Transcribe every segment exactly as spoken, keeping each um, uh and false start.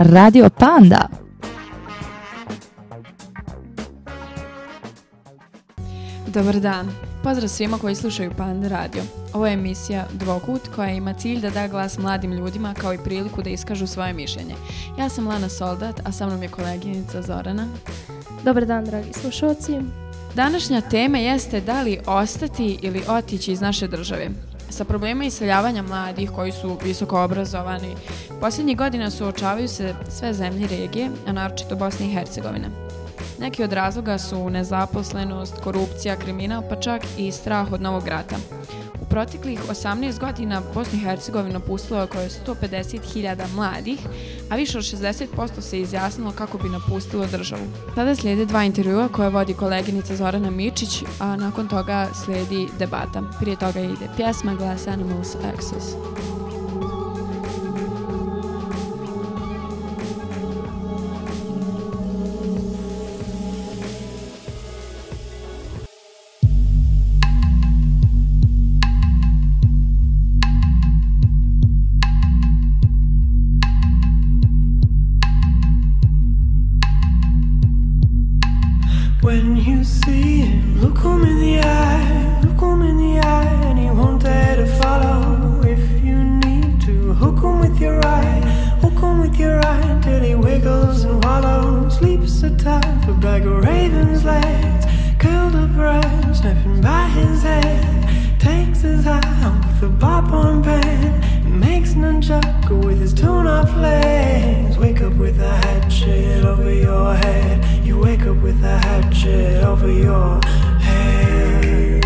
Radio Panda. Dobar dan. Pozdrav svima koji slušaju Panda Radio. Ovo je emisija Dvokut koja ima cilj da da glas mladim ljudima kao i priliku da iskažu svoje mišljenje. Ja sam Lana Soldat, a sa mnom je koleginica Zorana. Dobar dan, dragi slušalci. Današnja tema jeste da li ostati ili otići iz naše države. Sa problema iseljavanja mladih koji su visoko obrazovani, posljednjih godina suočavaju se sve zemlje regije, a naročito Bosna i Hercegovina. Neki od razloga su nezaposlenost, korupcija, kriminal, pa čak i strah od novog rata. U proteklih osamnaest godina Bosnu i Hercegovinu napustilo oko sto pedeset hiljada mladih, a više od šezdeset posto se izjasnilo kako bi napustilo državu. Sada slijede dva intervjua koje vodi koleginica Zorana Mičić, a nakon toga slijedi debata. Prije toga ide pjesma Glass Animals Access. When you see him, look him in the eye, look him in the eye, and he won't dare to follow. If you need to, hook him with your eye, hook him with your eye, till he wiggles and wallows, sleeps atop a bag of raven's legs, curled up right, snapping by his head, takes his eye off with a bop-on pen, makes nunchaku with his torn-off legs. Wake up with a hatchet over your head. You wake up with a hatchet over your head.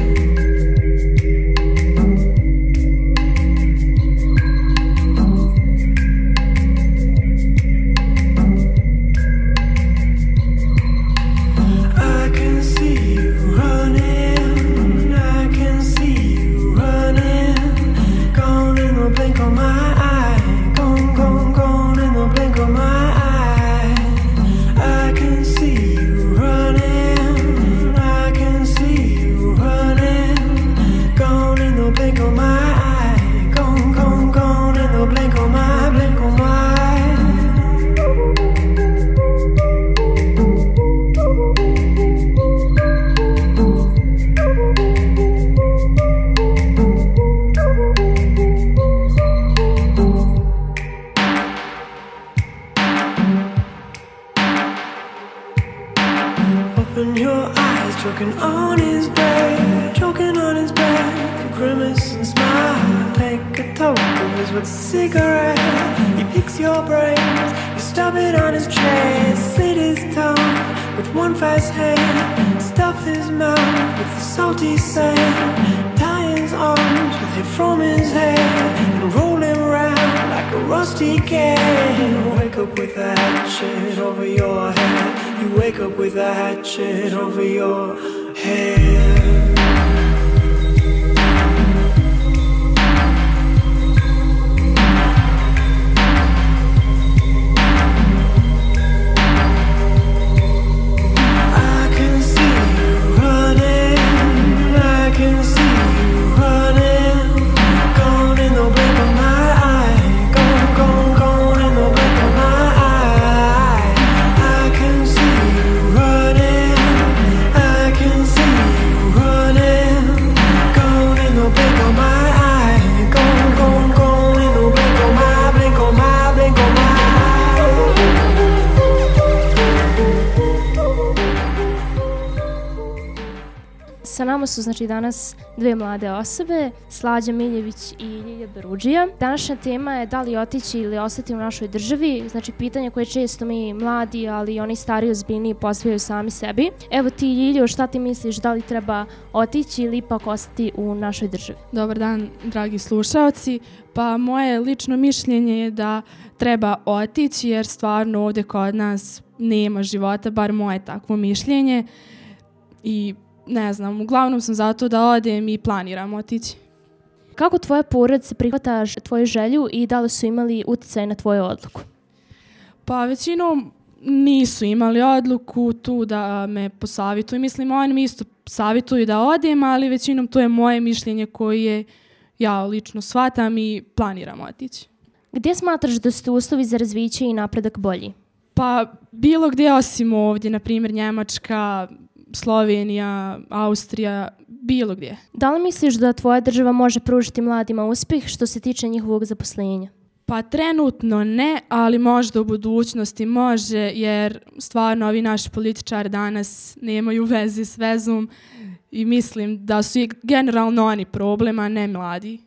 I can see you running, I can see you running, gone in the blink of my eye, gone, gone, gone in the blink of my eye. I can see you running, I can see you running, gone in the blink of my eye, gone, gone, gone in the blink of my, blink of my eye. Open your eyes, choking on his back, choking on his back, a grimace and smile. Take a toke of his with a cigarette. He picks your brains, you stub it on his chest, slit his tongue with one fast hand, stuff his mouth with the salty sand, tie his arms with hair from his head, and roll him round like a rusty can. Wake up with a hatchet over your head. You wake up with a hatchet over your head. I can see you running, I can see you running, gone in the blink of my eye, gone, gone, gone in the blink of my eye. I can see you running, I can see you running, gone in the blink of my eye, gone, gone, gone in the blink of my, blink of my, blink of my. Sa nama su znači danas dve mlade osobe, Slađa Miljević i Ljilja Berudžija. Današnja tema je da li otići ili ostati u našoj državi, znači pitanje koje često mi mladi, ali i oni stariji ozbiljniji postavljaju sami sebi. Evo ti, Ljiljo, šta ti misliš, da li treba otići ili ipak ostati u našoj državi? Dobar dan, dragi slušaoci. Pa moje lično mišljenje je da treba otići jer stvarno ovdje kod nas nema života, bar moje takvo mišljenje. I ne znam, uglavnom sam zato da odem i planiram otići. Kako tvoja porodica prihvata tvoju želju i da li su imali utjecaj na tvoju odluku? Pa većinom nisu imali odluku tu da me posavjetuju. Mislim, oni mi isto savjetuju da odem, ali većinom to je moje mišljenje koje ja lično shvatam i planiram otići. Gdje smatraš da su uslovi za razviće i napredak bolji? Pa bilo gdje osim ovdje, na primjer Njemačka, Slovenija, Austrija, bilo gdje. Da li misliš da tvoja država može pružiti mladima uspjeh što se tiče njihovog zaposlenja? Pa trenutno ne, ali možda u budućnosti može, jer stvarno ovi naši političari danas nemaju veze s vezom i mislim da su i generalno oni problem, a ne mladi.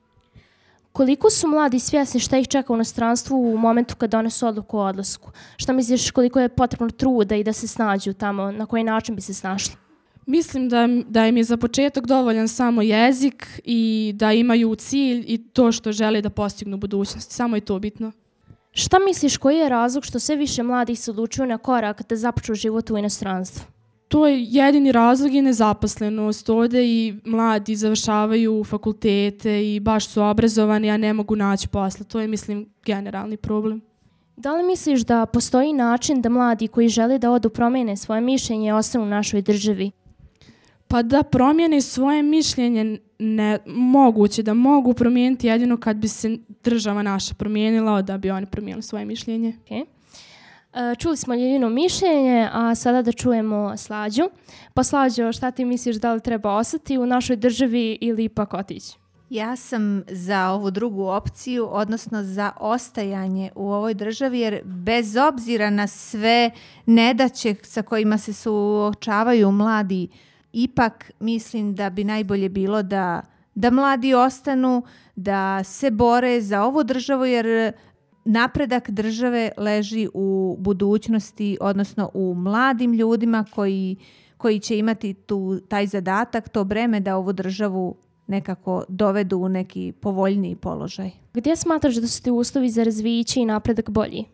Koliko su mladi svjesni šta ih čeka u inostranstvu u momentu kad donesu odluku o odlasku? Šta misliš koliko je potrebno truda i da se snađu tamo, na koji način bi se snašli? Mislim da, da im je za početak dovoljan samo jezik i da imaju cilj i to što žele da postignu u budućnosti. Samo je to bitno. Šta misliš koji je razlog što sve više mladih se odlučuju na korak da započnu život u inostranstvu? To je jedini razlog je nezaposlenost. Ovdje i mladi završavaju fakultete i baš su obrazovani, a ne mogu naći posla. To je, mislim, generalni problem. Da li misliš da postoji način da mladi koji žele da odu promijene svoje mišljenje i ostanu u našoj državi? Pa da promijene svoje mišljenje ne moguće, da mogu promijeniti jedino kad bi se država naša promijenila, da bi oni promijenili svoje mišljenje. Okay. Čuli smo Ljiljino mišljenje, a sada da čujemo Slađu. Pa Slađo, šta ti misliš, da li treba ostati u našoj državi ili ipak otići? Ja sam za ovu drugu opciju, odnosno za ostajanje u ovoj državi, jer bez obzira na sve nedaće sa kojima se suočavaju mladi, ipak mislim da bi najbolje bilo da, da mladi ostanu, da se bore za ovu državu, jer napredak države leži u budućnosti, odnosno u mladim ljudima koji, koji će imati tu, taj zadatak, to breme da ovu državu nekako dovedu u neki povoljniji položaj. Gdje smatraš da su ti uslovi za razviće i napredak bolji?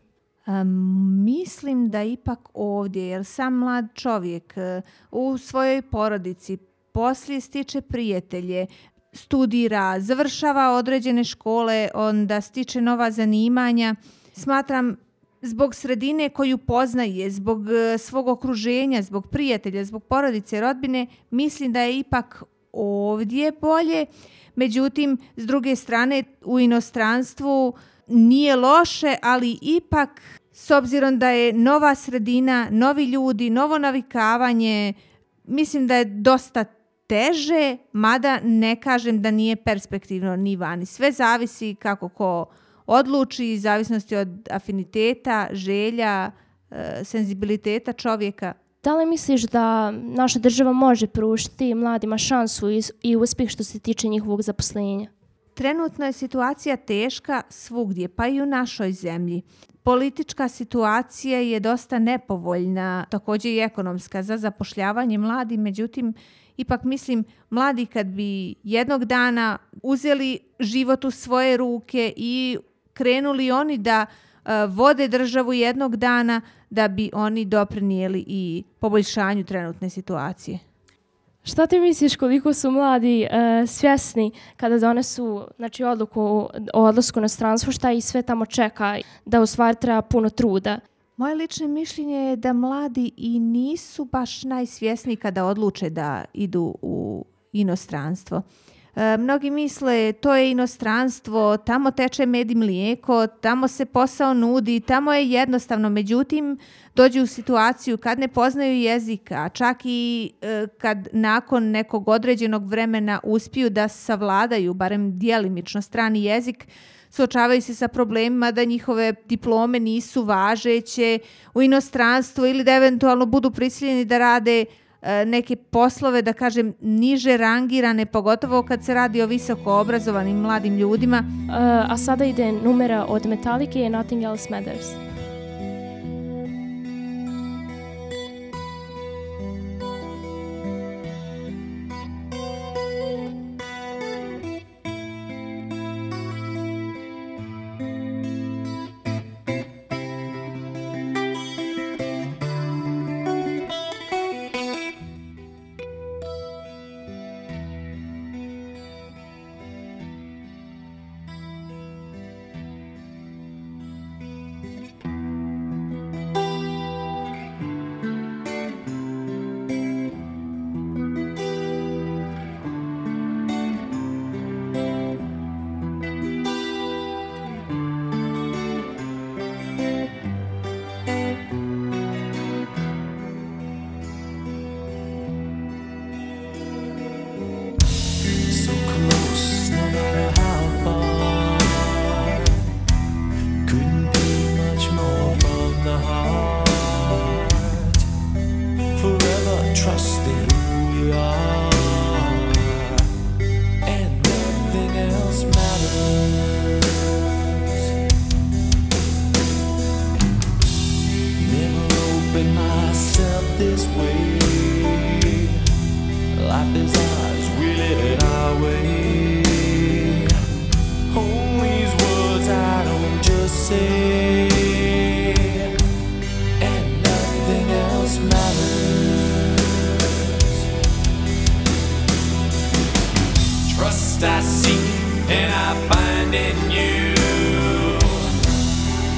Um, mislim da ipak ovdje, jer sam mlad čovjek uh, u svojoj porodici poslije stiče prijatelje, studira, završava određene škole, onda stiče nova zanimanja. Smatram zbog sredine koju poznaje, zbog uh, svog okruženja, zbog prijatelja, zbog porodice, rodbine, mislim da je ipak ovdje bolje. Međutim, s druge strane, u inostranstvu nije loše, ali ipak s obzirom da je nova sredina, novi ljudi, novo navikavanje, mislim da je dosta teže, mada ne kažem da nije perspektivno ni vani. Sve zavisi kako ko odluči, zavisnosti od afiniteta, želja, e, senzibiliteta čovjeka. Da li misliš da naša država može pružiti mladima šansu i, i uspjeh što se tiče njihovog zaposlenja? Trenutno je situacija teška svugdje, pa i u našoj zemlji. Politička situacija je dosta nepovoljna, također i ekonomska za zapošljavanje mladih, međutim, ipak mislim, mladi kad bi jednog dana uzeli život u svoje ruke i krenuli oni da uh, vode državu jednog dana, da bi oni doprinijeli i poboljšanju trenutne situacije. Šta ti misliš koliko su mladi uh, svjesni kada donesu znači, odluku o odlasku na stranstvo, šta ih sve tamo čeka, da u stvari treba puno truda? Moje lično mišljenje je da mladi i nisu baš najsvjesniji kada odluče da idu u inostranstvo. E, mnogi misle to je inostranstvo, tamo teče med i mlijeko, tamo se posao nudi, tamo je jednostavno. Međutim, dođu u situaciju kad ne poznaju jezika, čak i e, kad nakon nekog određenog vremena uspiju da savladaju, barem djelimično, strani jezik, suočavaju se sa problemima da njihove diplome nisu važeće u inostranstvu ili da eventualno budu prisiljeni da rade e, neke poslove, da kažem, niže rangirane, pogotovo kad se radi o visoko obrazovanim mladim ljudima. Uh, a sada ide numera od Metallica i Nothing Else Matters.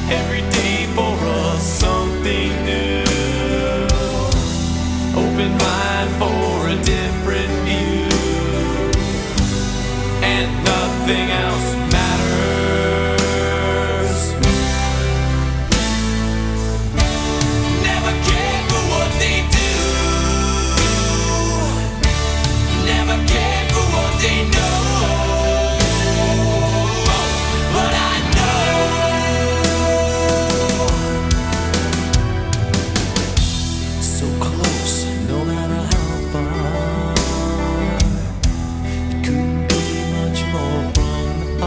every day for us something new. Open mind for a different view, and nothing else matters. Never care for what they do, never care for what they know. But I know so close, no matter how far. It couldn't be much more from the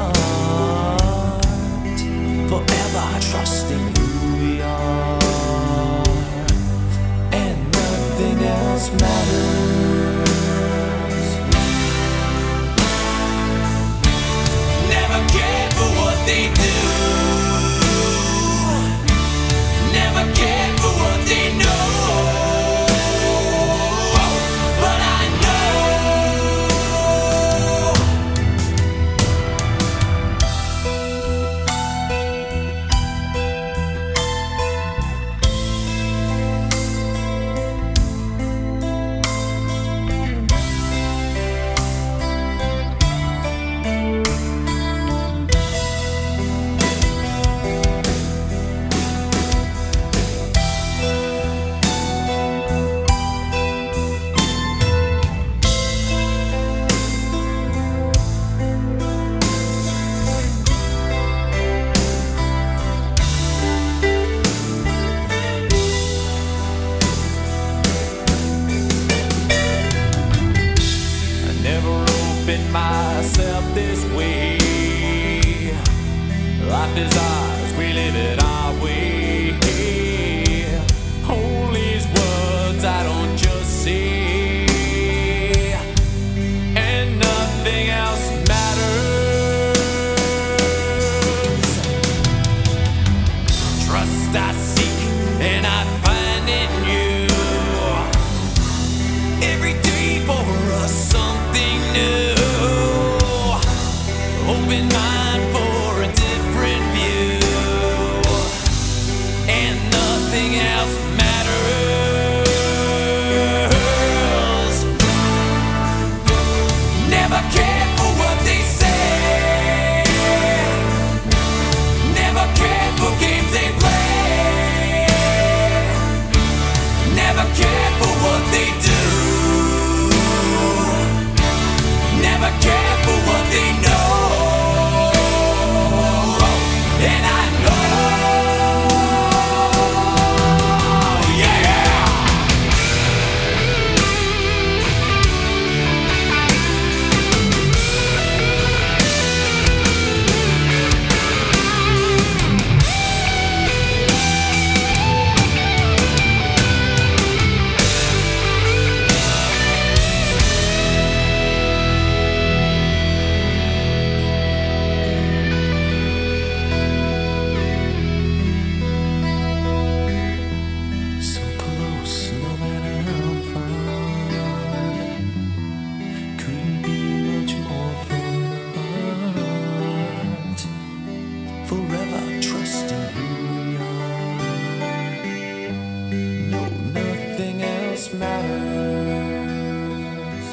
heart. Forever trusting who we are, and nothing else matters. Never care for what they do, never care for what they know. But I know I never opened myself this way. Life is ours, we live it our way. Hold these words I don't just say, and nothing else matters. Trust I seek and I find in you, every day for us something new. Open mind for a different view, and nothing else matters. Never care for what they say, never care for games they play, never care for what they do, never care for what they know. And I know, yeah. So close, no matter how far. Couldn't be much more from the heart. Forever trusting who we are. No, nothing else matters.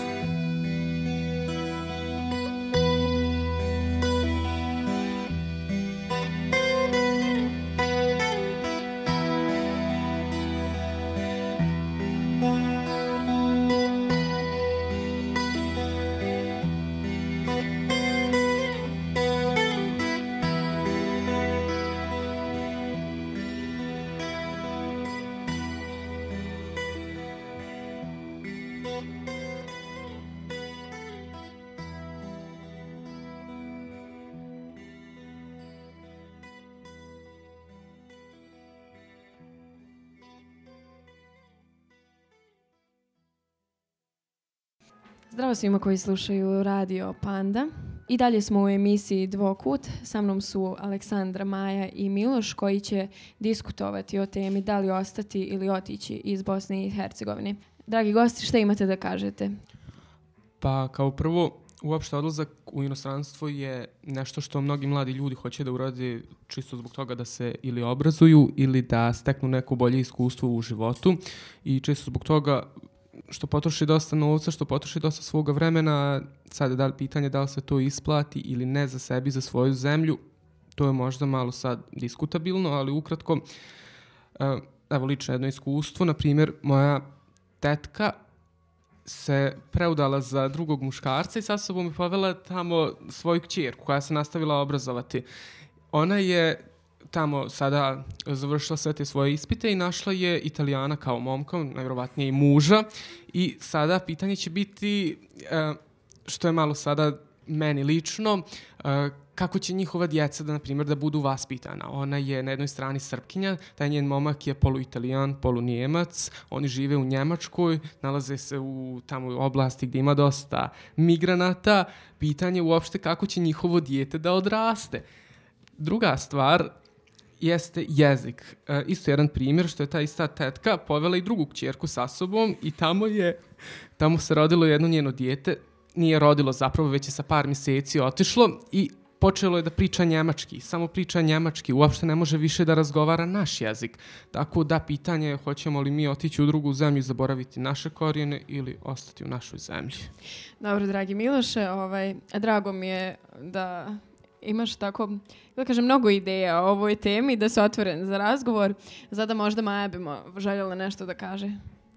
Zdravo svima koji slušaju Radio Panda. I dalje smo u emisiji Dvokut. Sa mnom su Aleksandra, Maja i Miloš koji će diskutovati o temi da li ostati ili otići iz Bosne i Hercegovine. Dragi gosti, šta imate da kažete? Pa kao prvo, uopšte odlazak u inostranstvo je nešto što mnogi mladi ljudi hoće da urade čisto zbog toga da se ili obrazuju ili da steknu neko bolje iskustvo u životu i čisto zbog toga što potroši dosta novca, što potroši dosta svoga vremena. Sad je da li pitanje da li se to isplati ili ne za sebi, za svoju zemlju. To je možda malo sad diskutabilno, ali ukratko, evo lično jedno iskustvo. Na primjer, moja tetka se preudala za drugog muškarca i sa sobom je povela tamo svoju kćerku koja se nastavila obrazovati. Ona je tamo sada završila sve te svoje ispite i našla je Italijana kao momka, najvjerovatnije i muža. I sada pitanje će biti, što je malo sada meni lično, kako će njihova djeca da, na primjer, da budu vaspitana. Ona je na jednoj strani Srpkinja, taj njen momak je polu-Italijan, polu-Njemac, oni žive u Njemačkoj, nalaze se u tamo oblasti gdje ima dosta migranata. Pitanje uopšte kako će njihovo dijete da odraste. Druga stvar jeste jezik. E, isto jedan primjer što je ta ista tetka povela i drugu kćerku sa sobom i tamo je, tamo se rodilo jedno njeno dijete, nije rodilo zapravo, već je sa par mjeseci otišlo i počelo je da priča njemački, samo priča njemački, uopšte ne može više da razgovara naš jezik. Tako da pitanje je hoćemo li mi otići u drugu zemlju i zaboraviti naše korijene ili ostati u našoj zemlji. Dobro, dragi Miloše, ovaj, drago mi je da imaš tako, da kažem, mnogo ideja o ovoj temi, da se otvoren za razgovor. Zada možda Maja bi željela nešto da kaže.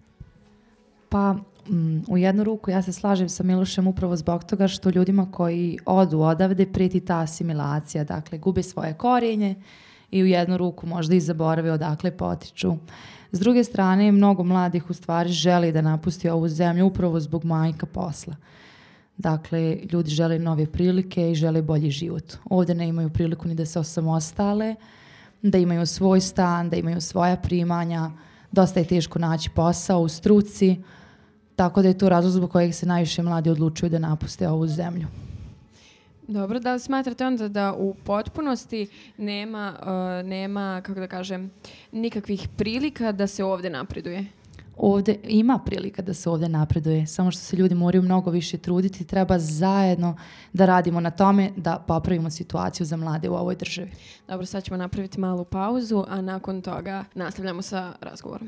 Pa mm, u jednu ruku ja se slažem sa Milošem upravo zbog toga što ljudima koji odu odavde prijeti ta asimilacija, dakle gube svoje korijenje i u jednu ruku možda i zaborave odakle potiču. S druge strane, mnogo mladih u stvari želi da napusti ovu zemlju upravo zbog manjka posla. Dakle, ljudi žele nove prilike i žele bolji život. Ovdje ne imaju priliku ni da se osamostale, da imaju svoj stan, da imaju svoja primanja, dosta je teško naći posao u struci, tako da je to razlog zbog kojeg se najviše mladi odlučuju da napuste ovu zemlju. Dobro, da li smatrate onda da u potpunosti nema, uh, nema, kako da kažem, nikakvih prilika da se ovdje napreduje? Ovdje ima prilika da se ovdje napreduje, samo što se ljudi moraju mnogo više truditi, treba zajedno da radimo na tome da popravimo situaciju za mlade u ovoj državi. Dobro, sad ćemo napraviti malu pauzu, a nakon toga nastavljamo sa razgovorom.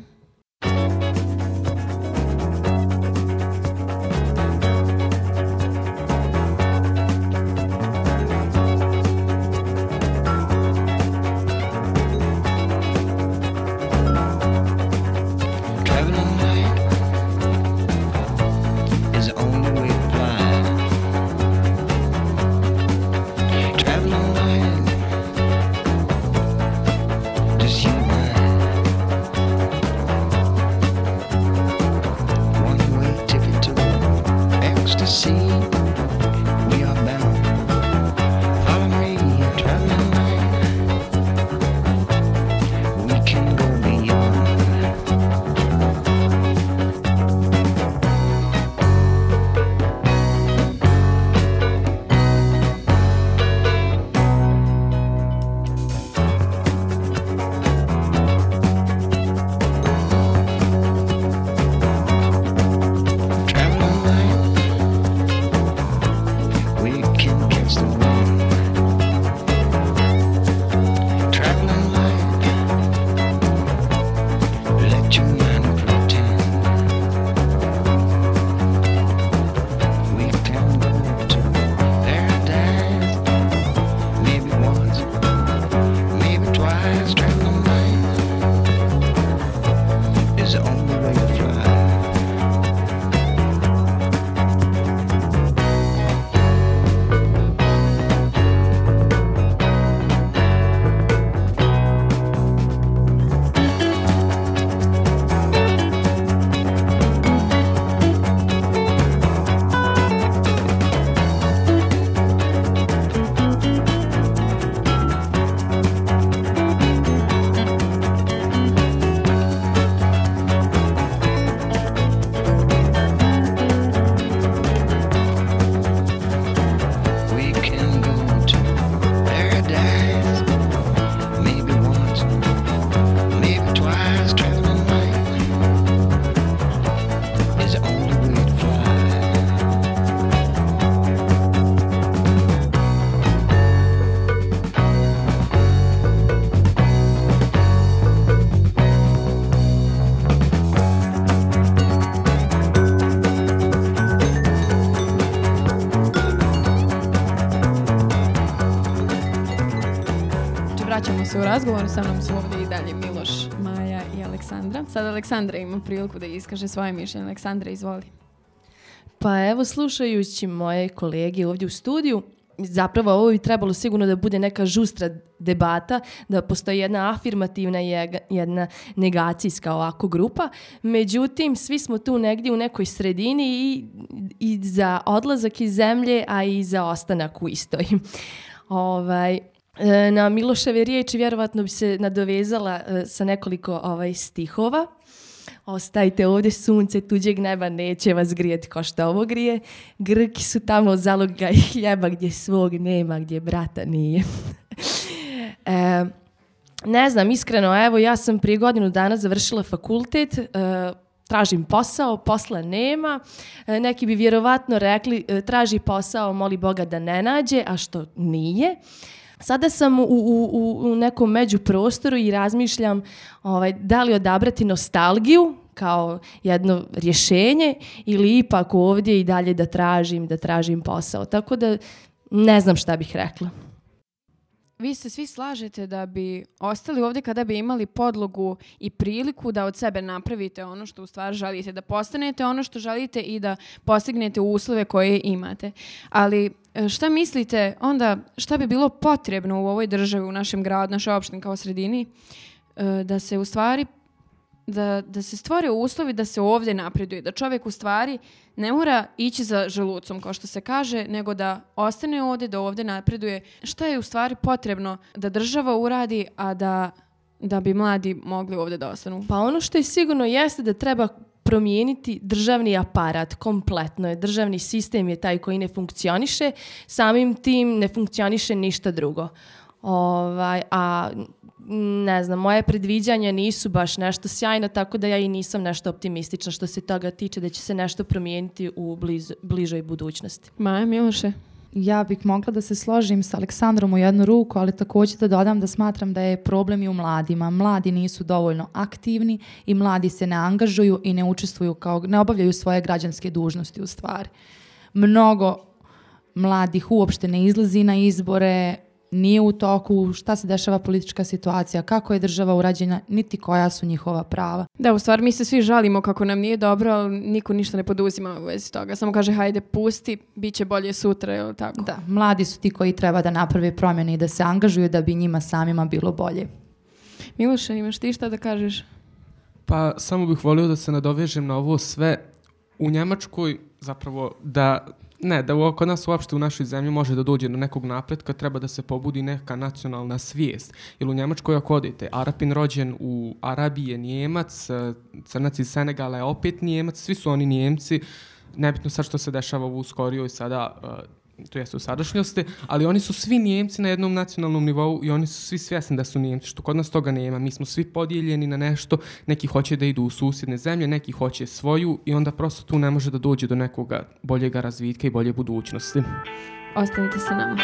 Just you and I. vraćamo se u razgovor. Sa mnom su ovdje i dalje Miloš, Maja i Aleksandra. Sad Aleksandra ima priliku da iskaže svoje mišljenje. Aleksandra, izvoli. Pa evo, slušajući moje kolege ovdje u studiju, zapravo ovo bi trebalo sigurno da bude neka žustra debata, da postoji jedna afirmativna i jedna negacijska ovako grupa. Međutim, svi smo tu negdje u nekoj sredini i, i za odlazak iz zemlje, a i za ostanak u istoj. Ovaj, na Miloševe riječi vjerovatno bi se nadovezala sa nekoliko ovaj, stihova. Ostajte ovdje, sunce tuđeg neba neće vas grijeti kao što ovo grije. Grki su tamo zaloga i hljeba gdje svog nema, gdje brata nije. e, ne znam, iskreno, evo ja sam prije godinu dana završila fakultet, e, tražim posao, posla nema. E, neki bi vjerovatno rekli e, traži posao, moli Boga da ne nađe, a što nije. Sada sam u, u, u nekom međuprostoru i razmišljam ovaj, da li odabrati nostalgiju kao jedno rješenje ili ipak ovdje i dalje da tražim, da tražim posao. Tako da ne znam šta bih rekla. Vi se svi slažete da bi ostali ovdje kada bi imali podlogu i priliku da od sebe napravite ono što u stvari želite, da postanete ono što želite i da postignete uslove koje imate. Ali šta mislite onda, šta bi bilo potrebno u ovoj državi, u našem gradu, našoj opštini kao sredini, da se u stvari Da, da se stvore uslovi da se ovdje napreduje, da čovjek u stvari ne mora ići za želucom, kao što se kaže, nego da ostane ovdje, da ovdje napreduje. Šta je u stvari potrebno da država uradi, a da, da bi mladi mogli ovdje da ostanu? Pa ono što je sigurno jeste da treba promijeniti državni aparat kompletno. Je. Državni sistem je taj koji ne funkcioniše, samim tim ne funkcioniše ništa drugo. Ovaj, a ne znam, moje predviđanja nisu baš nešto sjajno, tako da ja i nisam nešto optimistična što se toga tiče da će se nešto promijeniti u bliz, bližoj budućnosti. Maja, Miloše? Ja bih mogla da se složim sa Aleksandrom u jednu ruku, ali također da dodam da smatram da je problem i u mladima. Mladi nisu dovoljno aktivni i mladi se ne angažuju i ne učestvuju, kao, ne obavljaju svoje građanske dužnosti u stvari. Mnogo mladih uopšte ne izlazi na izbore, nije u toku šta se dešava politička situacija, kako je država urađena, niti koja su njihova prava. Da, u stvari mi se svi žalimo kako nam nije dobro, ali niko ništa ne poduzima u vezi toga. Samo kaže hajde pusti, bit će bolje sutra, je li tako? Da, mladi su ti koji treba da naprave promjene i da se angažuju da bi njima samima bilo bolje. Miloše, imaš ti šta da kažeš? Pa samo bih volio da se nadovežem na ovo sve. U Njemačkoj zapravo da... Ne, da kod nas uopšte u našoj zemlji može da dođe do nekog napretka, treba da se pobudi neka nacionalna svijest. Jer u Njemačkoj ako odete, Arapin rođen u Arabiji je Njemac, Crnac iz Senegala je opet Njemac, svi su oni Njemci, nebitno sad što se dešava u skorijoj sada, to jest u sadašnjosti, ali oni su svi Njemci na jednom nacionalnom nivou i oni su svi svjesni da su Njemci, što kod nas toga nema. Mi smo svi podijeljeni na nešto, neki hoće da idu u susjedne zemlje, neki hoće svoju i onda prosto tu ne može da dođe do nekoga boljega razvitka i bolje budućnosti. Ostanite sa nama.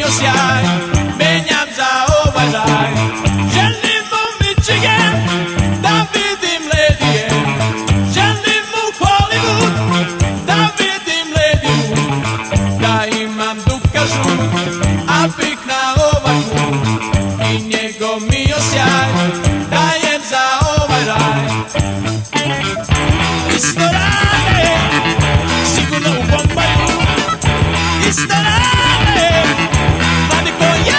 mio sjaj, menjam za ovaj raj. Želim u Michigan da vidim ledije, želim u Hollywood da vidim lediju, da imam duka žut, a pik na ovaj put i njegov mio sjaj dajem za ovaj raj. Isto rade, sigurno u Bombaju, isto rade, mladi ko ja.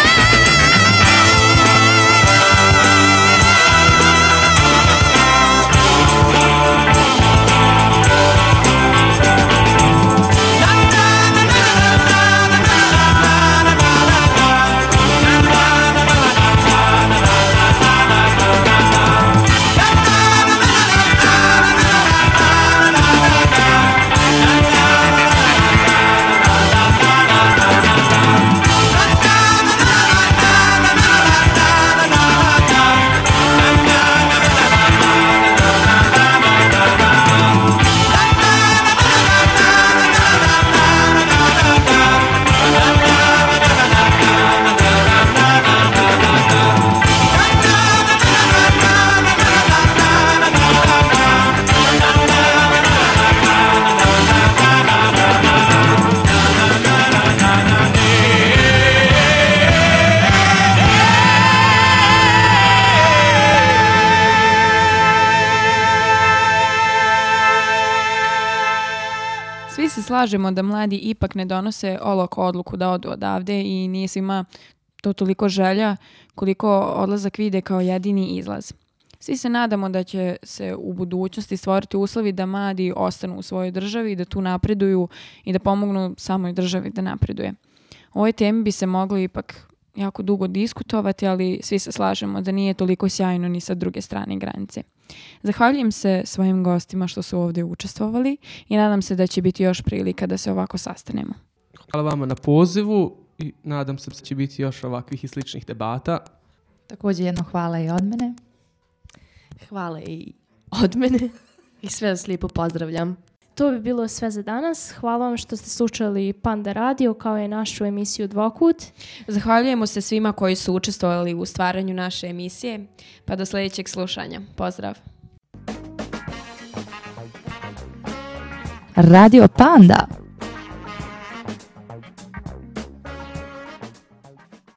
Svi se slažemo da mladi ipak ne donose olako odluku da odu odavde i nije svima to toliko želja koliko odlazak vide kao jedini izlaz. Svi se nadamo da će se u budućnosti stvoriti uslovi da mladi ostanu u svojoj državi, da tu napreduju i da pomognu samoj državi da napreduje. O ovoj temi bi se moglo ipak jako dugo diskutovati, ali svi se slažemo da nije toliko sjajno ni sa druge strane granice. Zahvaljujem se svojim gostima što su ovdje učestvovali i nadam se da će biti još prilika da se ovako sastanemo. Hvala vama na pozivu i nadam se da će biti još ovakvih i sličnih debata. Također jedno hvala i od mene. Hvala i od mene i sve vas lijepo pozdravljam. To bi bilo sve za danas. Hvala vam što ste slušali Panda Radio kao i našu emisiju Dvokut. Zahvaljujemo se svima koji su učestvovali u stvaranju naše emisije. Pa do sljedećeg slušanja. Pozdrav. Radio Panda.